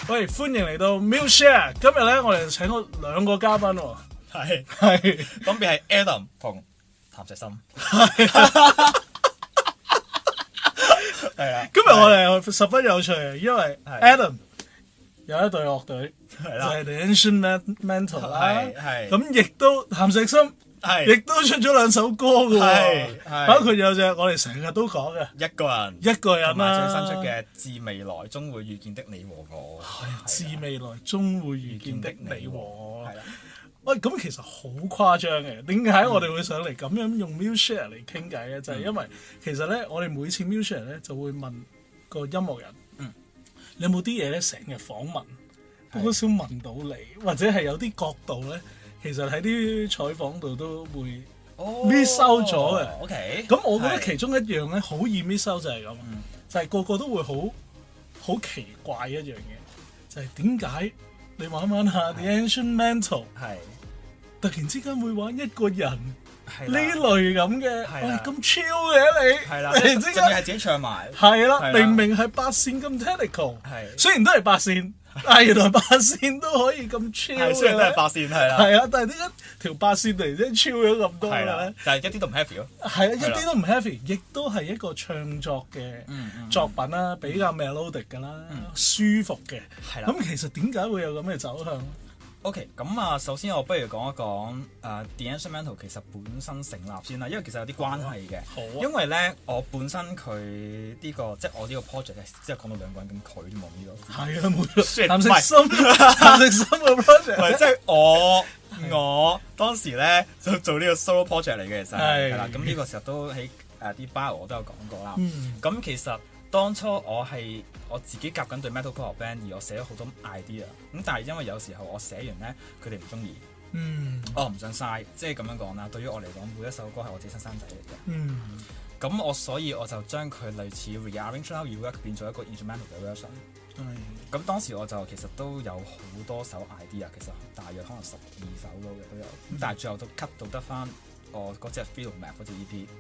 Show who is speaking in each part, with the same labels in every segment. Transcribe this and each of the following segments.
Speaker 1: 喂，歡迎嚟到 Museshare。今日咧，我哋請咗兩個嘉賓喎。係，
Speaker 2: 分別係 Adam 同譚石森。係啦，
Speaker 1: 今日我哋十分有趣，因為 Adam 有一隊樂隊，就係 The Ancient Mental 啦。係，咁亦都譚石森。亦都出咗兩首歌嘅喎，包括有隻我哋成日都講嘅
Speaker 2: 一個人，
Speaker 1: 同埋
Speaker 2: 最新出嘅《致未來終會遇見的你和我》。
Speaker 1: 致未來終會遇見的你和我。係啦，喂，咁其實好誇張嘅。點解我哋會上嚟咁樣用 Museshare 嚟傾偈咧？就係因為其實咧，我哋每次 Museshare 咧就會問個音樂人，你有冇啲嘢咧成日訪問，好少問到你，或者係有啲角度咧？其實喺啲採訪度都會 miss 收咗嘅。
Speaker 2: OK，
Speaker 1: 咁我覺得其中一樣咧，好易 miss 收就係咁，就係個個都會好奇怪一樣嘢，就係點解你玩下 The Ancient Mental， 突然之間會玩一個人呢類咁嘅，喂咁 chill 嘅你，突然之間
Speaker 2: 係自己唱埋，
Speaker 1: 係啦，明明係八線咁 technical，雖然都係八線。但原來八線都可以咁 chill
Speaker 2: 雖然都係八線，係啦，
Speaker 1: 係啊，但係點解條八線突然之間 chill 咗咁多嘅咧？
Speaker 2: 但係一啲都唔 heavy 咯。
Speaker 1: 係啊，一啲都唔 heavy， 亦都係一個唱作嘅作品啦，比較 melodic 㗎啦，舒服嘅。係啦。咁其實點解會有咁嘅走向
Speaker 2: ？OK， 咁啊，首先我不如講一講The Ancient Mental 其實本身成立先啦，因為其實有啲關係嘅。好啊。因為咧，我本身佢呢個即係我呢個 project 即係講到兩個人咁佢都冇呢個。係啊，冇錯。譚石森嘅 project。唔係，即係我當時咧就做呢個 solo project 嚟嘅，其實係啦。咁呢個時候都喺啲 bio 我都有講過啦。咁其實當初我自己夾緊對 metalcore band， 而我寫咗好多 idea， 咁但係因為有時候我寫完咧，佢哋唔中意，我唔想嘥，即係咁樣講啦。對於我嚟講，每一首歌係我自己親生仔嚟嘅，咁所以我就將佢類似 rearrange how you work 變咗一個 instrumental 嘅 version。咁當時我就其實都有好多首 idea， 其實大約可能12首咯嘅都有，咁但係最後都 cut 到得翻我嗰隻 Film Map 嗰隻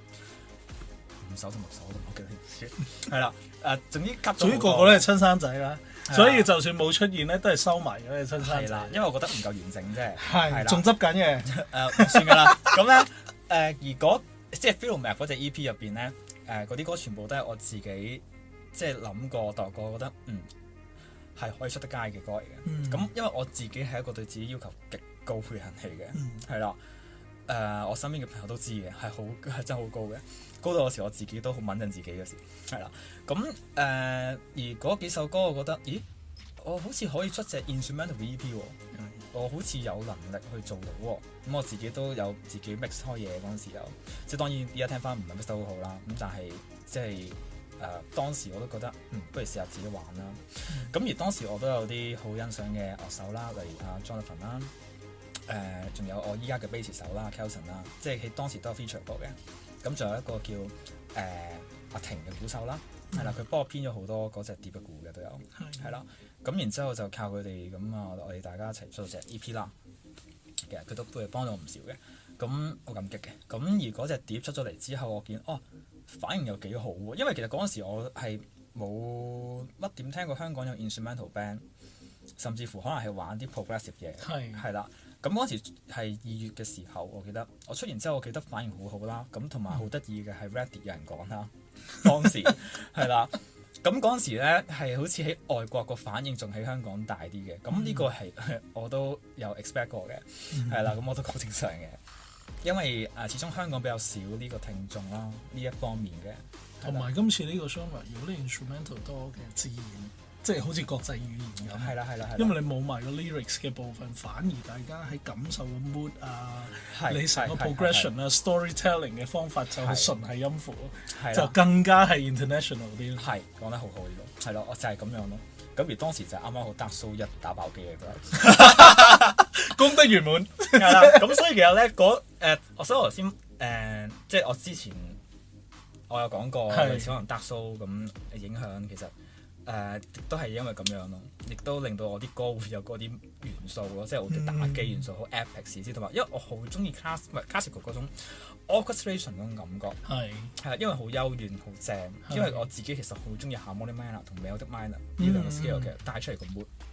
Speaker 2: EP。5首同6首都唔記得，係啦，總之吸咗。總之個個都係親生仔啦，所以就算冇出現咧，都係收埋嘅親生仔。係啦，因為我覺得唔夠完整啫。係，仲執緊嘅。唔算㗎啦。咁咧，而即係 Film Map 嗰隻 EP 入邊咧，嗰啲歌全部都係我自己即係諗過、度過，覺得係可以出得街嘅歌嚟嘅。咁因為我自己係一個對自己要求極高嘅人嚟嘅，係啦。我身邊嘅朋友都知嘅，係真係好高嘅，高到有時我自己都好穩陣自己嘅時，係啦。咁而嗰幾首歌，我覺得，咦，我好似可以出隻 instrumental EP 喎，我好似有能力去做到喎。咁我自己都有自己 mix 開嘢嗰陣時候，即係當然而家聽翻唔係 mix 得好好啦。咁但係即係當時我都覺得，不如試下自己玩啦。咁而當時我都有啲好欣賞嘅樂手啦，例如阿 Jonathan 啦。仲有我依家嘅 bass 手啦 Kelson 啦，即係喺當時都有 feature 過嘅。咁仲有一個叫阿婷嘅鼓手啦，係啦，佢幫我編咗好多嗰隻碟嘅鼓嘅都有，係啦。咁然之後就靠佢哋咁啊，我哋大家一齊出到隻 EP 啦。其實佢都係幫咗我唔少嘅，咁好感激嘅。咁而嗰隻碟出咗嚟之後，我見反應又幾好喎，因為其實嗰陣時我係冇乜點聽過香港有 instrumental band， 甚至乎可能係玩啲 progressive 嘢，係啦。咁嗰時係2月嘅時候，我記得我出完之後，我記得反應好好啦。咁同埋好得意嘅係 Reddit 有人講啦，當時係啦。咁嗰陣時咧係好似喺外國個反應仲喺香港大啲嘅。咁呢個係我都有 expect 過嘅，係啦。咁我都好正常嘅，因為始終香港比較少呢個聽眾啦，呢一方面嘅。
Speaker 1: 同埋今次呢個 genre 如果你 instrumental 多嘅自然。即係好似國際語言咁，係啦，因為你冇埋個 lyrics 嘅部分，反而大家喺感受嘅 mood 啊，你成個 progression 啊 storytelling 嘅方法就係純係音符，就更加係 international 啲。係講得好好呢個，係咯，我就係咁樣咯。咁而當時就啱啱好 Dark Soul 1打爆機嘅，功德圓滿。係啦，咁所以其實咧我所以頭先即係我之前我有講過，類似可能 Dark Soul 咁影響其實。都係因為咁樣咯，亦都令到我啲歌會有嗰啲元素咯，即係好多打機元素，好 epic 先同埋，因為我好中意 classical 嗰種 orchestration 嗰種感覺，係因為好幽怨好正，因為我自己其實好中意 harmonic minor 同 melodic minor 呢兩個 scale 嘅帶出嚟個 mood，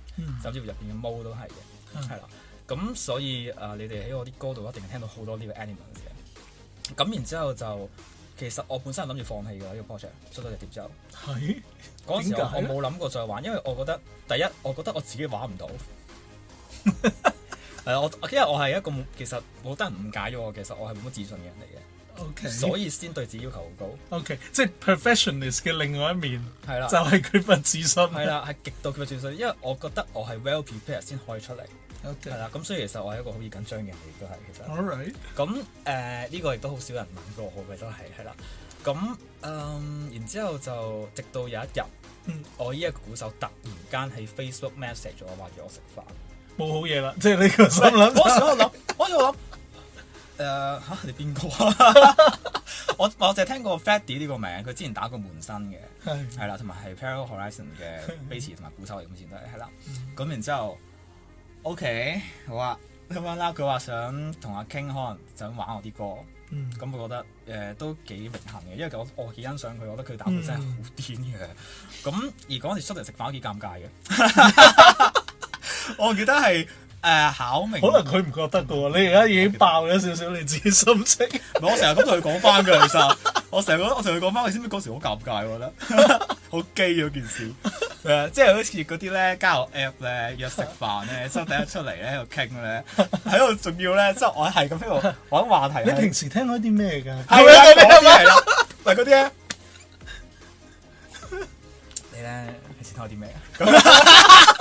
Speaker 2: 甚至乎入邊嘅毛都係嘅，係啦。咁所以你哋喺我啲歌度一定聽到好多呢個 elements 嘅。咁然之後就其實我本身係諗住放棄㗎呢個 project 出咗隻碟之後。
Speaker 1: 係
Speaker 2: 嗰陣時我冇諗過再玩，因為我覺得第一我覺得我自己玩唔到。因為我係一個其實好多人誤解咗我，其實我係冇乜自信嘅人嚟嘅。
Speaker 1: Okay.
Speaker 2: 所以先對自己要求好高。
Speaker 1: OK， 即係 perfectionist 嘅另外一面，
Speaker 2: 係啦，
Speaker 1: 就係缺乏自信。
Speaker 2: 係啦，係極度缺乏自信，因為我覺得我係 well prepared 先可以出嚟。
Speaker 1: OK，
Speaker 2: 係啦，咁所以其實我係一個好易緊張嘅人，亦都係其實。
Speaker 1: All right。
Speaker 2: 咁呢個亦都好少人問過我嘅，都係啦。咁然之後就直到有一日，我依一個鼓手突然間喺 Facebook message 咗我，話約我食飯。
Speaker 1: 冇好嘢啦，即係呢個心諗。
Speaker 2: 嗰時我諗，你邊個啊？我淨係聽過 Freddy 呢個名，佢之前打過門生嘅，係啦，同埋係 Parallel Horizon 嘅 bass 同埋鼓手嚟，咁前都係啦。咁然之後 ，OK 好啊，咁樣啦。佢話想同阿 King 可能想玩我啲歌，咁我覺得都幾榮幸嘅，因為我幾欣賞佢，我覺得佢打鼓真係好癲嘅。咁而嗰時出嚟食飯都幾尷尬嘅，我記得係。考明，
Speaker 1: 可能佢唔覺得嘅喎，你而家已經爆咗少少你自己心情。
Speaker 2: 我成日咁同佢講翻㗎，其實我成日同佢講翻，你知唔知嗰時好尷尬？我覺得好基嗰件事，即係好似嗰啲咧交友 app 咧約食飯咧，之後第一出嚟咧喺度傾咧，喺度仲要咧，即係我係咁喺度揾話題。
Speaker 1: 你平時聽開啲咩㗎？
Speaker 2: 係啦，嗰啲係啦，嗱嗰啲咧，你咧平時聽開啲咩啊？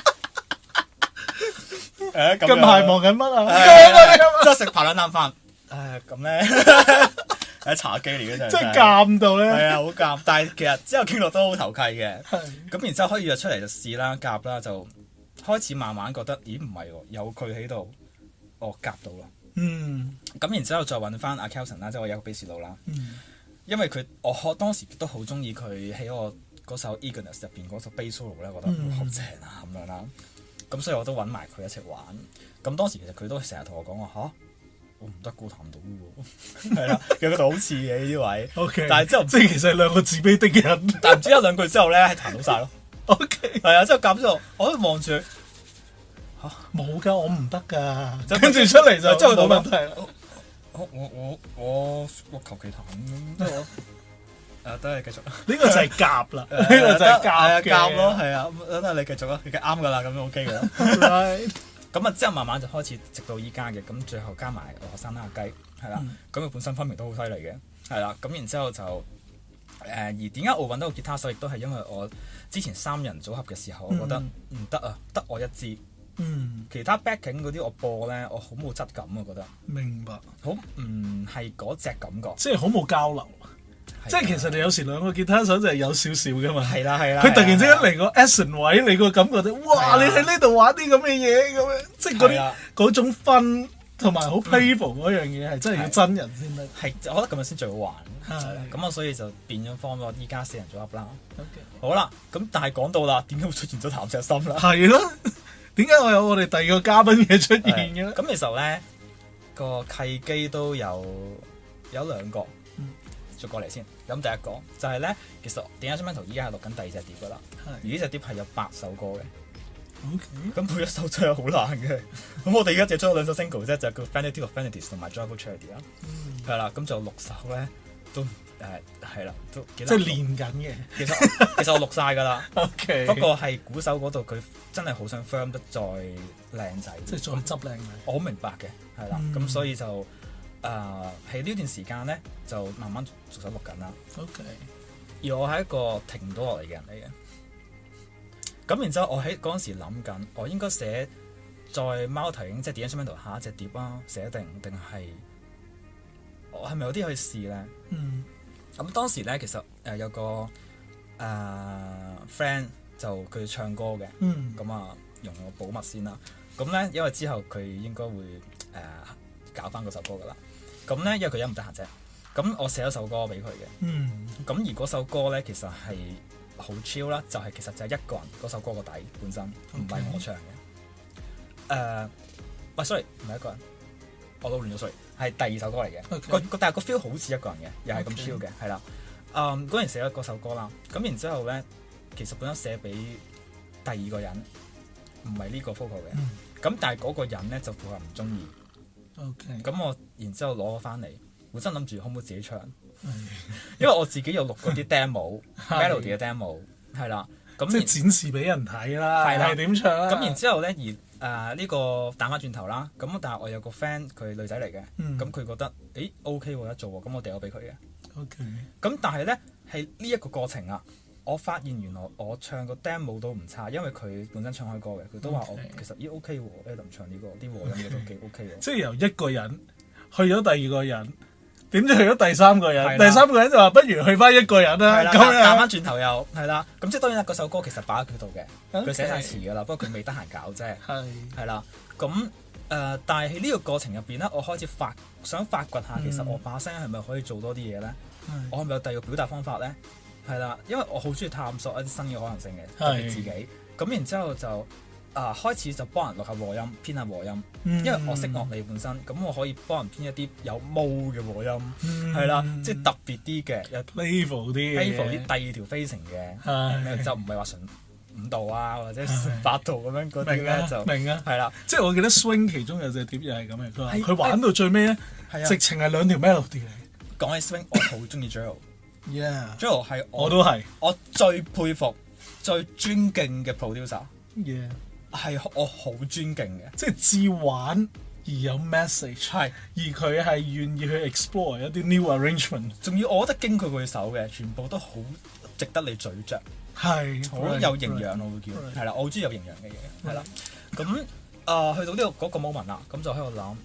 Speaker 1: 近排忙緊乜啊？
Speaker 2: 即係食排兩啖飯。咁咧喺茶幾嚟嘅啫，
Speaker 1: 即係尷到咧。
Speaker 2: 係啊，好尷。但係其實之後傾落都好投契嘅。咁然之後可以約出嚟就試啦，夾啦，就開始慢慢覺得，咦唔係喎，有佢喺度，我夾到啦。咁然之後再揾翻阿 Kelson 啦，即係我有個 bass 佬啦。因為我當時都好中意佢喺我嗰首 Eagerness 入邊嗰首 bass solo 咧，覺得好正啊咁樣啦。咁所以我都揾埋佢一齊玩。咁當時其實佢都成日同我講話嚇，我唔得，彈唔到喎。係啦，其實佢度好似嘅呢啲位。OK， 但係之後即係其實係兩個自卑的人。但係唔知一兩句之後咧，係彈到晒咯。OK， 係啊，之後夾之後，我都望住佢嚇，冇㗎，我唔得㗎。跟住出嚟就真係冇問題。我求其彈咁得我。都係繼續。呢個就係夾啦，呢個就係夾咯，係啊，等你繼續啦，你啱噶啦，咁樣 OK 噶啦。咁啊，之後慢慢就開始，直到依家嘅，咁最後加埋學生啦阿雞，係啦，咁佢本身分明都好犀利嘅，係啦，咁然之後就而點解我揾到個吉他手，亦都係因為我之前3人組合嘅時候，我覺得唔得啊，得我一支，其他 backing 嗰啲我播咧，我好冇質感啊，覺得。明白。好唔係嗰隻感覺，即係好冇交流。即係其實你有時兩個吉他手就係有少少噶嘛，係啦係啦。佢突然之間嚟個 action 位，你個感覺就哇！你喺呢度玩啲咁嘅嘢咁樣，即係嗰種分同埋好 playful 嗰樣嘢係真係要真人先得。係，我覺得咁樣先最好玩。咁啊，所以就變咗方咗依家4人組合啦。好啦，咁但係講到啦，點解會出現咗譚石心啦？係咯，點解我有我哋第二個嘉賓嘅出現嘅？咁其實咧個契機都有2個。再過嚟先，咁第一個就係咧，其實 The Instrumental 依家係錄緊第2隻碟噶啦，而呢隻碟係有8首歌嘅。咁每一首真係好難嘅。咁我哋而家只出咗2首 single 啫，就叫 Vanity of Vanities 同埋 Joyful Charity 啦。係啦，咁就6首咧都係啦，都幾難。即係練緊嘅。其實我錄晒㗎啦。OK。不過係鼓手嗰度佢真係好想 firm 得再靚仔，即係再執靚嘅。我好明白嘅，係啦，咁所以就。喺呢段時間咧，就慢慢逐手錄緊啦。OK。而我係一個停唔到落嚟嘅人嚟嘅。咁然之後，我喺嗰陣時諗緊，我應該寫在貓頭鷹即係 The Instrumental 下一隻碟啊，寫定係我係咪有啲可以試咧？咁當時咧，其實有個friend 就佢唱歌嘅。咁啊，容我保密先啦。咁咧，因為之後佢應該會搞翻嗰首歌噶啦。咁咧，因為佢一唔得閒啫。咁我寫咗首歌俾佢嘅。咁而嗰首歌咧，其實係好 chill 啦，就係其實就係一個人嗰首歌個底本身，唔係我唱嘅。喂，sorry，唔係一個人，我都亂咗 sorry，係第2首歌嚟嘅。但係個 feel 好似一個人嘅，又係咁 chill 嘅，係啦。嗰陣寫咗嗰首歌啦。咁然之後咧，其實本身寫俾第2個人， 唔係呢個 focal 嘅。咁但係嗰個人咧就負責唔中意。
Speaker 1: OK。
Speaker 2: 咁我然之後攞咗翻嚟，本身諗住可唔可以自己唱，因為我自己有錄嗰啲 demo，melody 嘅 demo 係啦。咁
Speaker 1: 即係展示俾人睇啦，係點唱啦。
Speaker 2: 咁然之後咧，呢個彈翻轉頭啦。咁但係我有個 friend 佢女仔嚟嘅，咁佢覺得OK 喎，得做喎，咁我掉咗俾佢嘅。
Speaker 1: OK。咁
Speaker 2: 但係咧係呢一個過程啊，我發現原來我唱個 demo 都唔差，因為佢本身唱開歌嘅，佢都話我其實OK 喎，Adam 唱呢個啲和音嘢都幾 OK 喎。即係
Speaker 1: 由一個人去咗第二個人。點知去咗第三個人？第三個人就話不如去翻一個人啦。
Speaker 2: 咁彈翻轉頭又係啦。咁即係當然嗰首歌其實擺喺佢度嘅，佢寫晒詞㗎啦。不過佢未得閒搞啫。係啦。咁但係喺呢個過程入邊咧，我開始想發掘下，其實我把聲係咪可以做多啲嘢咧？我係咪有第二個表達方法咧？係啦，因為我好中意探索一啲新嘅可能性嘅，特別自己。咁然之後就開始就幫人錄下和音，編下和音，因為我識樂理本身，咁我可以幫人編一啲有毛嘅和音，係啦，即係特別啲嘅，有
Speaker 1: playful 啲
Speaker 2: 第二條飛程嘅，就唔係話純5度啊或者8度咁樣嗰啲咧就
Speaker 1: 明啊，
Speaker 2: 係啦，
Speaker 1: 即係我記得 swing 其中有隻碟又係咁嘅，佢話佢玩到最尾咧，直情係2條 melody 嚟。
Speaker 2: 講起 swing，我好中意 Joel，Joel 係
Speaker 1: 我都係
Speaker 2: 我最佩服、最尊敬嘅 producer。係我好尊敬嘅，
Speaker 1: 即係自玩而有 message，
Speaker 2: 係
Speaker 1: 而佢係願意去 explore 一啲 new arrangement，
Speaker 2: 仲要我覺得經佢個手嘅，全部都好值得你咀嚼，係好有營養，我會叫係啦，我好中意有營養嘅嘢，係啦，咁去到呢個嗰個 moment 啦，咁就喺度諗，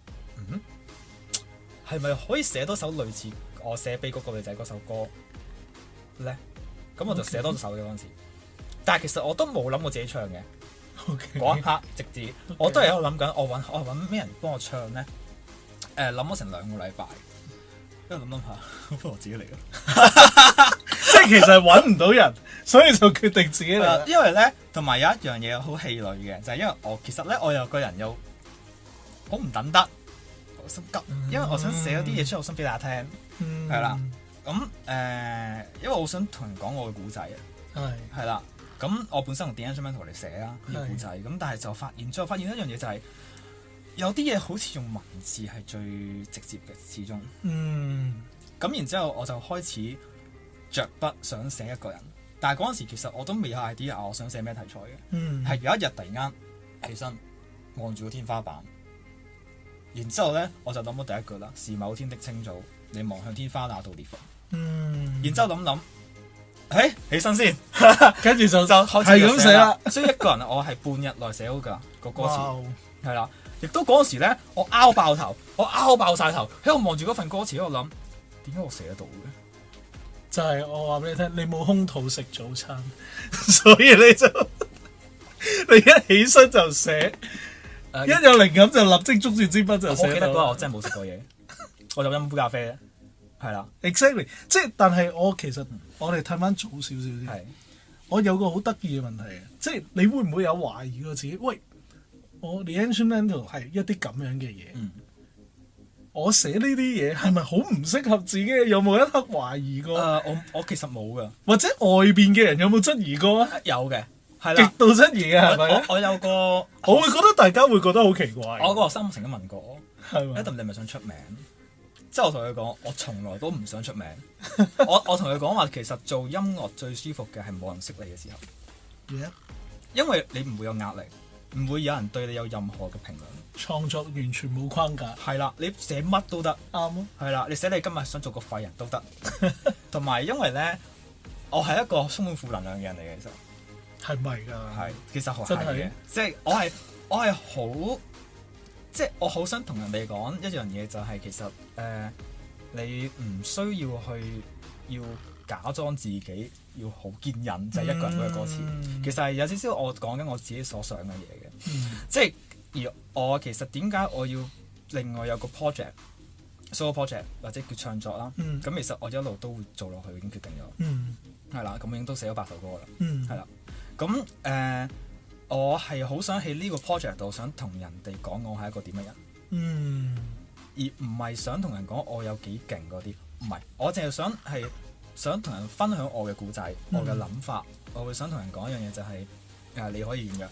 Speaker 2: 係咪可以寫多首類似我寫俾嗰個女仔嗰首歌咧？咁我就寫多首嘅嗰陣時，但係其實我都冇諗過自己唱嘅。嗰一刻直至我都係喺度諗緊，我揾咩人幫我唱咧？諗咗成2個禮拜，因為諗下，不如我自己嚟咯。
Speaker 1: 即係其實揾唔到人，所以就決定自己嚟。
Speaker 2: 因為咧，同埋有一樣嘢好氣餒嘅，就係因為我其實咧，我有個人又好唔等得，好心急，因為我想寫咗啲嘢出嚟，我想俾大家聽，係啦。咁因為我想同人講我嘅故仔啊，係啦。咁我本身用 The Instrumental 嚟寫啦呢個故仔，咁但係就發現一樣嘢就係有啲嘢好似用文字係最直接嘅，始終。咁然之後我就開始着筆想寫一個人，但係嗰陣時其實我都未有 idea 我想寫咩題材嘅。係有一日突然間起身望住個天花板，然之後咧我就諗到第一句啦：是某天的清早，你望向天花那道裂縫。然之後諗。起身先，
Speaker 1: 跟住就
Speaker 2: 開始咁寫啦。所以一個人我係半日內寫好㗎個歌詞，係啦。亦都嗰陣時咧，我拗爆頭，我拗爆晒頭，喺度望住嗰份歌詞喺度諗，點解我寫得到嘅？
Speaker 1: 就係我話俾你聽，你冇空肚食早餐，所以你一起身就寫，一有靈感就立即捉住支筆就寫。
Speaker 2: 我記得嗰日我真係冇食過嘢，我就飲杯咖啡咧。係啦
Speaker 1: ，exactly， 即係但係我其實我哋睇翻早少少啲，我有個好得意嘅問題嘅，即係你會唔會有懷疑過自己？喂，我 The Instrumental 係一啲咁樣嘅嘢，我寫呢啲嘢係咪好唔適合自己？有冇一刻懷疑過？
Speaker 2: 我其實冇噶，
Speaker 1: 或者外邊嘅人有冇質疑過啊？
Speaker 2: 有嘅，係啦，
Speaker 1: 極度質疑嘅係咪？
Speaker 2: 我有個，
Speaker 1: 我會覺得大家會覺得好奇怪。
Speaker 2: 我個學生曾經問過我，
Speaker 1: 係咪
Speaker 2: ？Adam，你係咪想出名？即係我同佢講，我從來都唔想出名。我同佢講話，其實做音樂最舒服嘅係冇人識你嘅時候，因為你唔會有壓力，唔會有人對你有任何嘅評論。
Speaker 1: 創作完全冇框架。係
Speaker 2: 啦，你寫乜都得。
Speaker 1: 啱啊。
Speaker 2: 係啦，你寫你今日想做個廢人都得。同埋因為咧，我係一個充滿負能量嘅人嚟嘅，其實係咪㗎？係，其實係嘅。即係我係好。即係我好想同人哋講一樣嘢，就係其實你唔需要要假裝自己要好堅忍，就係一個人嗰個歌詞。其實係有少少我講緊我自己所想嘅嘢嘅。即係而我其實點解我要另外有個 solo project 或者叫唱作啦？咁其實我一路都會做落去，已經決定咗。係啦，咁已經都寫咗8首歌啦。係啦，咁我係好想喺呢個 project 度想同人哋講我係一個點嘅人，而唔係想同人講我有幾勁嗰啲，唔係，我淨係想同人分享我嘅故仔，我嘅諗法，我會想同人講一樣嘢就係你可以軟弱，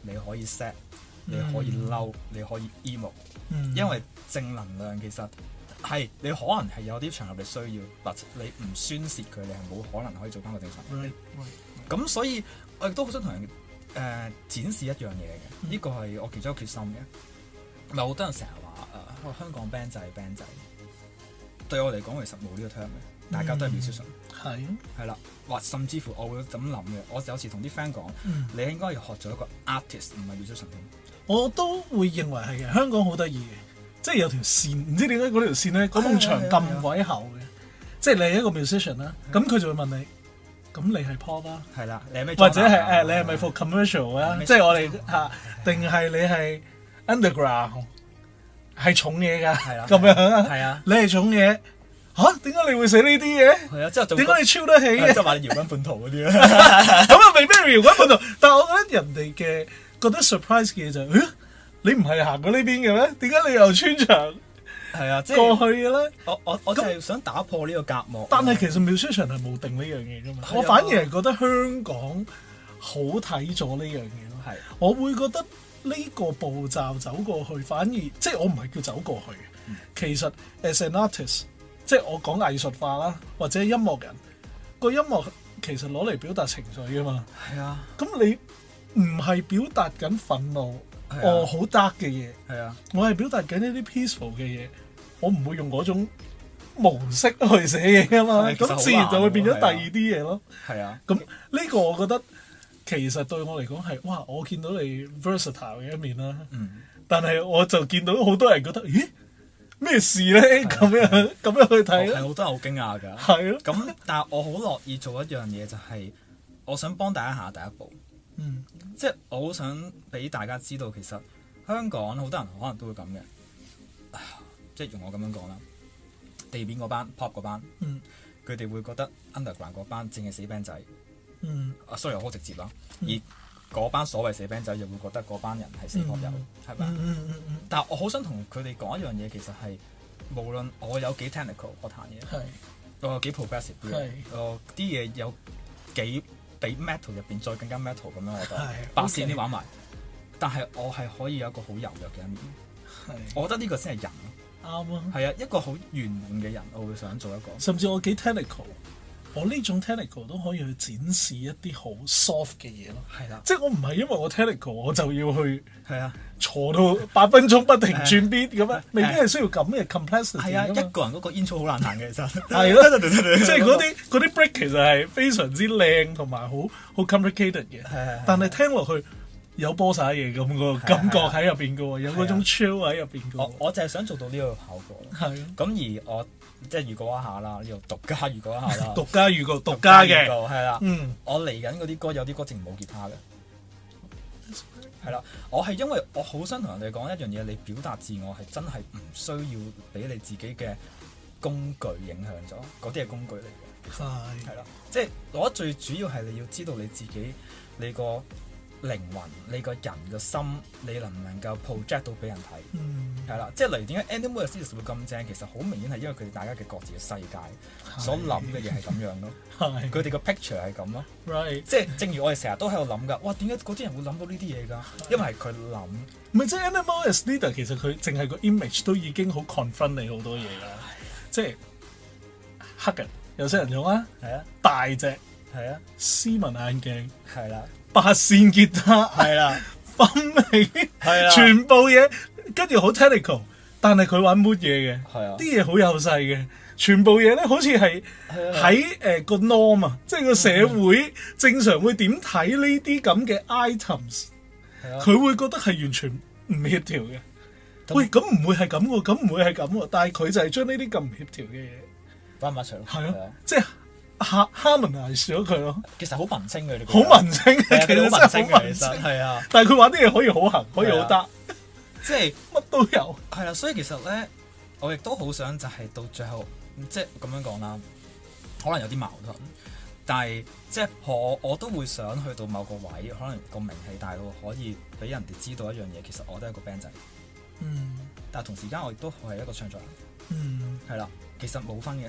Speaker 2: 你可以 sad，你可以嬲，你可以 emo，因為正能量其實係你可能係有啲場合你需要，或者你唔宣泄佢，你係冇可能可以做翻個正常人。咁所以我亦都好想同人展示一樣嘢嘅，呢個係我其中一個決心嘅。咪好多人成日話香港 band 仔 band 仔，對我嚟講其實冇呢個 term 嘅，大家都係 musician。係啦，或甚至乎我會咁諗嘅。我有時同啲 friend 講，你應該要學做一個 artist，唔係 musician。我
Speaker 1: 都會認為係嘅。香港好得意嘅，即係有條線，唔知點解嗰條線咧，嗰埲牆咁鬼厚嘅。即係你係一個 musician 啦，咁佢就會問你，咁你係 pop 啦，
Speaker 2: 係啦，你係咩？
Speaker 1: 或者係你係咪 for commercial 啊？即係我哋定係你係 underground， 係重嘢㗎，係啦，咁樣啊？係啊，你係重嘢。點解你會寫呢啲嘢？係啊，之後點解你超得起嘅？即係話你搖滾本土嗰啲啦。咁啊，未必係搖滾本土，但係我覺得人哋嘅覺得 surprise 嘅嘢就係，你唔係行過呢邊嘅咩？點解你又穿牆？係啊，即係過去嘅咧。我就係想打破呢個隔膜。但係其實 musician 係冇定呢樣嘢噶嘛。我反而係覺得香港好睇咗呢樣嘢咯。係，我會覺得呢個步驟走過去，反而即係我唔係叫走過去。其實 as an artist。即係我講藝術化啦，或者音樂人個音樂其實攞嚟表達情緒㗎嘛。係啊，咁你唔係表達緊憤怒，好 dark 嘅嘢。係啊，我係表達緊一啲 peaceful 嘅嘢。我唔會用嗰種模式去寫嘢㗎嘛。咁自然就會變咗第二啲嘢咯。係啊，咁呢個我覺得其實對我嚟講係哇，我見到你 versatile 嘅一面啦。但係我就見到好多人覺得，咦？咩事咧？咁樣去睇，係好多人好驚訝㗎。係咯。咁但係我好樂意做一樣嘢，就係我想幫大家行第一步。即係我好想俾大家知道，其實香港好多人可能都會咁嘅。即係用我咁樣講啦，地面嗰班 pop 嗰班，佢哋會覺得 underground 嗰班淨係死 band 仔。sorry 我好直接啦。而嗰班所謂死 band 仔又會覺得嗰班人係死 pop 友，係咪？但係我好想同佢哋講一樣嘢，其實係無論我有幾 technical，我彈嘢，我有幾 progressive 啲嘢有幾比 metal 入邊再更加 metal 咁樣，我覺得八線啲玩埋。但係我係可以有一個好柔弱嘅一面。我覺得呢個先係人咯。啱啊。係啊，一個好圓滿嘅人，我會想做一個。甚至我幾 technical。我呢種 technical 都可以去展示一啲好 soft 嘅嘢咯，係啦，即係我唔係因為我 technical 我就要去坐到8分鐘不停轉 beat 咁樣，未必係需要咁嘅 complexity。係啊，一個人嗰個 intro 好難彈嘅，其實係咯，即係嗰啲 break 其實係非常之靚同埋好 complicated 嘅，但係聽落去有波曬嘢咁個感覺喺入邊嘅喎，有嗰種 chill 喺入邊嘅喎。我就係想做到呢個效果。係。咁而我即係預告一下啦，呢度獨家預告一下啦。獨家預告，獨家嘅係啦。我嚟緊嗰啲歌有啲歌淨冇吉他嘅。係啦，我係因為我好想同人哋講一樣嘢，你表達自我係真係唔需要俾你自己嘅工具影響咗，嗰啲係工具嚟嘅。係啦，即係我覺得最主要係你要知道你自己，你個靈魂，你個人嘅心，你能唔能夠 project 到俾人睇？係啦，即係例如點解 Animal Aesthetics 會咁正？其實好明顯係因為佢哋大家嘅各自嘅世界所諗嘅嘢係咁樣咯。佢哋個 picture 係咁咯。即係正如我哋成日都喺度諗㗎。哇！點解嗰啲人會諗到呢啲嘢㗎？因為係佢諗。唔係即係 Animal Aesthetics 其實佢淨係個 image 都已經好 confront 你好多嘢㗎。即係黑人有些人用啊，係啊，大隻係啊，斯文眼鏡係啦。8線吉他係啦，分明係啦，全部嘢跟住好 technical， 但係佢玩 mood 嘢嘅，係啊，啲嘢好幼細嘅，全部嘢咧好似係喺個 norm 啊，即係個社會正常會點睇呢啲咁嘅 items，佢會覺得係完全唔協調嘅。喂，咁唔會係咁喎，咁唔會係咁喎，但係佢就係將呢啲咁唔協調嘅嘢玩埋一齊，係咯，即係。harmonize 咗佢咯，其實好文青嘅，好文青嘅，其實好文青嘅，其實係啊。但係佢玩啲嘢可以好行，可以好得，即係乜都有。係啦，所以其實咧，我亦都好想就係到最後，即係咁樣講啦，可能有啲矛盾，但係即係我都會想去到某個位，可能個名氣大到可以俾人哋知道一樣嘢，其實我都係一個 band 仔。但係同時間我亦都係一個唱作人。係啦，其實冇分嘅。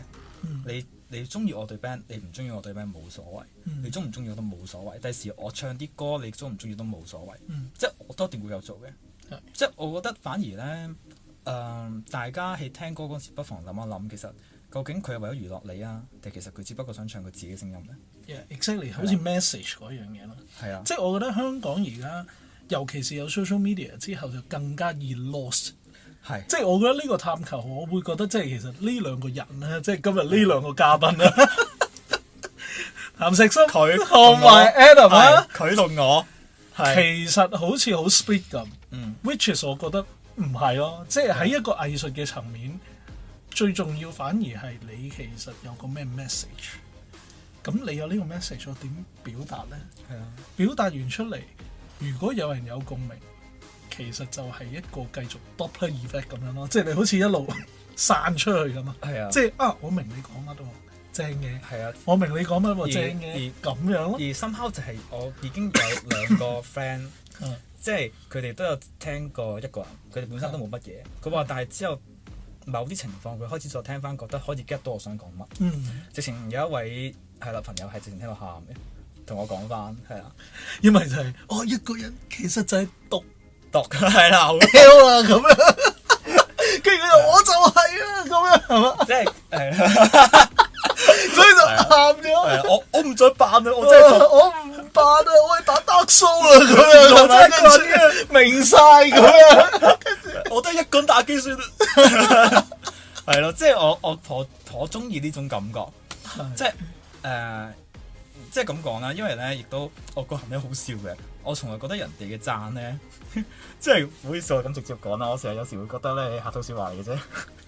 Speaker 2: 你中意我對 band， 你唔中意我對 band 冇所謂，你中唔中意我都冇所謂。第時我唱啲歌，你中唔中意都冇所謂，即係我都一定會有做嘅。即係我覺得反而咧，大家喺聽歌嗰時不妨諗一諗，其實究竟佢係為咗娛樂你啊，定其實佢只不過想唱佢自己嘅聲音咧
Speaker 1: ？Exactly， 好似 message 嗰樣嘢咯。
Speaker 2: 係啊，
Speaker 1: 即係我覺得香港而家，尤其是有 social media 之後，就更加易 lost。即係我覺得呢個探求，我會覺得即係其實呢兩個人咧，即係今日呢兩個嘉賓啦，譚石森佢同埋 Adam 啊，
Speaker 2: 佢同我
Speaker 1: 其實好似好 split 咁，which is 我覺得唔係咯，即係喺一個藝術嘅層面，最重要反而係你其實有個咩 message， 咁你有呢個 message 我點表達咧？係啊，表達完出嚟，如果有人有共鳴。其實就係一個繼續 Doppler effect 咁樣咯，即係你好似一路散出去咁啊！即係我明你講乜喎，正嘅。係啊，我明你講乜喎，正嘅。咁樣咯。而
Speaker 2: somehow 就係我已經有兩個 friend， 即係佢哋都有聽過一個人，佢哋本身都冇乜嘢。佢話，但係之後某啲情況，佢開始再聽翻，覺得開始 get 到我想講乜。直情有一位朋友係直情聽到喊嘅，同我講翻係啊，
Speaker 1: 因為就係我一個人其實就係讀
Speaker 2: 係啦，好
Speaker 1: L 啊咁樣，跟住佢就我就係啊咁樣，係嘛？
Speaker 2: 即係
Speaker 1: 所以就喊咗。
Speaker 2: 我唔再扮啦，我真係
Speaker 1: 我唔扮啊，我係打 Dark Soul 啊咁樣，我真係明晒咁樣。
Speaker 2: 我都係一個人打機算啦。係咯，即係我中意呢種感覺，即係即係咁講啦，因為咧亦都我個人咧好笑嘅，我從來覺得人哋嘅讚咧，即係唔好意思我咁直接講啦，我成日有時會覺得咧客套説話嚟嘅啫。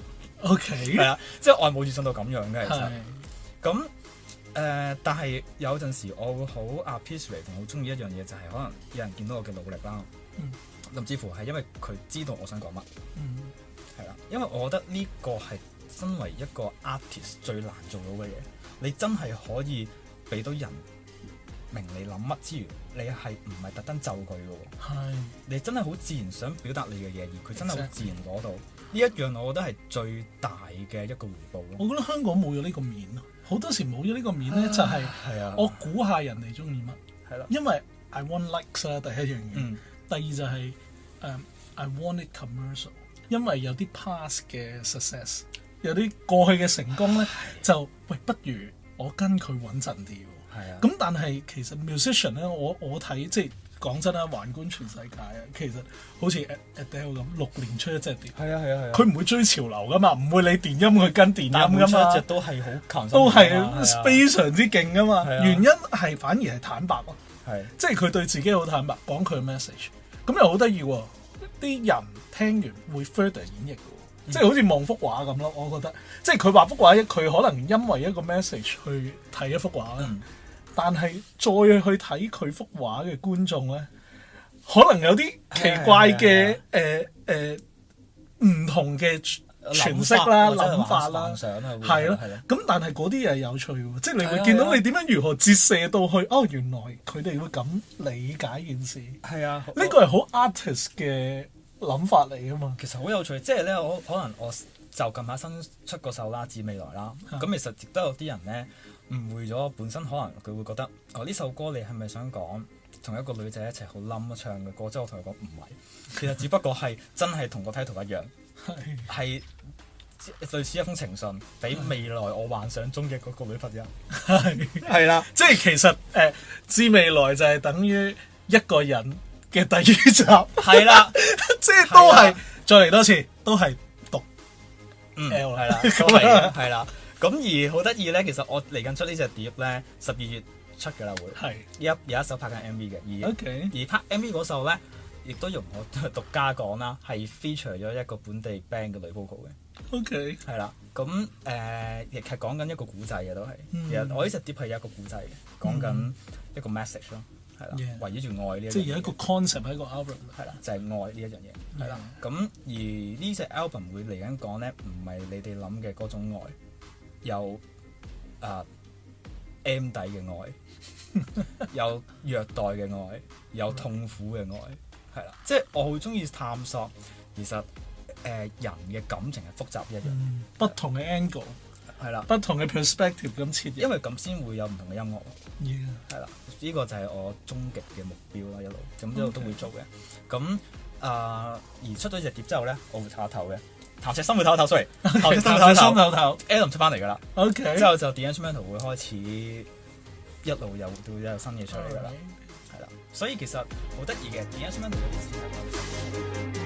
Speaker 1: OK，
Speaker 2: 係啊，即係我係冇自信到咁樣嘅其實。咁但係有陣時我會好 appreciate 同好中意一樣嘢，就係可能有人見到我嘅努力啦，甚至乎係因為佢知道我想講乜，係啦，因為我覺得呢個係身為一個 artist 最難做到嘅嘢，你真係可以俾到人明你諗乜之餘，你係唔係特登就佢嘅喎？你真係好自然想表達你嘅嘢，而佢真係好自然攞到呢一樣，我覺得係最大嘅一個回報咯。
Speaker 1: 我覺得香港冇咗呢個面咯，好多時冇咗呢個面咧，就係我估下人哋中意乜，係啦，因為 I want likes 啦，第一樣嘢，第二就係I want it commercial， 因為有啲 past 嘅 success， 有啲過去嘅成功咧，就喂不如我跟佢穩陣啲。咁但係其實 musician 咧，我睇即係講真啦，橫觀全世界啊，其實好似 Adele 咁6年出一隻碟，佢唔會追潮流噶嘛，唔會你電音佢跟電音噶嘛，
Speaker 2: 出一隻都係好強，
Speaker 1: 都係非常之勁噶嘛。原因係反而係坦白咯，即係佢對自己好坦白，講佢嘅 message， 咁又好得意喎。啲人聽完會 further 演繹嘅，即係好似望幅畫咁咯。我覺得即係佢畫幅畫，佢可能因為一個 message 去睇一幅畫啦。但係再去睇佢幅畫嘅觀眾咧，可能有啲奇怪嘅唔同嘅詮釋啦、諗法啦，係咯。咁但係嗰啲嘢有趣喎，即係你會見到你點樣如何折射到去哦，原來佢哋會咁理解件事。係啊，呢個係好 artist 嘅諗法嚟啊嘛。
Speaker 2: 其實好有趣，即係咧，可能我就近排新出個首啦，《致未來》啦。咁其實亦都有啲人咧誤會咗，本身可能佢會覺得呢首歌你係咪想講同一個女仔一齊好冧唱嘅歌？即係我同佢講唔係，其實只不過係真係同個 title 一樣，係類似一封情信俾未來我幻想中嘅嗰個女朋友。係啦，即係其實致未來就係等於一個人嘅第二集。係啦，即係都係再嚟多次，都係讀 L 係啦，係啦。咁而好得意咧，其實我嚟緊出呢隻碟咧，12月出嘅啦會。係。有一首拍緊 MV 嘅，而拍 MV 嗰首咧，亦都容我獨家講啦，係 feature 咗一個本地 band 嘅女 vocal 嘅。OK。係啦，咁亦係講緊一個古仔嘅都係。其實我呢隻碟係有一個古仔嘅，講緊一個 message 咯，係啦，圍繞住愛呢一樣嘢。即係有一個 concept 喺個 album。係啦，就係愛呢一樣嘢。係啦。咁而呢隻 album 會嚟緊講咧，唔係你哋諗嘅嗰種愛。有M 底嘅愛，有虐待嘅愛，有痛苦嘅愛，係啦，即係我好中意探索，其實人嘅感情係複雜一樣，
Speaker 1: 不同嘅 angle，
Speaker 2: 係啦，
Speaker 1: 不同嘅 perspective 咁切入，
Speaker 2: 因為咁先會有唔同嘅音樂。
Speaker 1: 係
Speaker 2: 啦，呢個就係我終極嘅目標啦，一路都會做嘅。咁而出咗隻碟之後咧，我會唞一唞嘅。譚石森會唞一唞，sorry，
Speaker 1: 譚石森唞唞
Speaker 2: ，Adam 出翻嚟㗎啦。
Speaker 1: OK，
Speaker 2: 之後就 The Instrumental 會開始一路有新嘢出嚟㗎啦。係啦，所以其實好得意嘅 The Instrumental 嗰啲詞係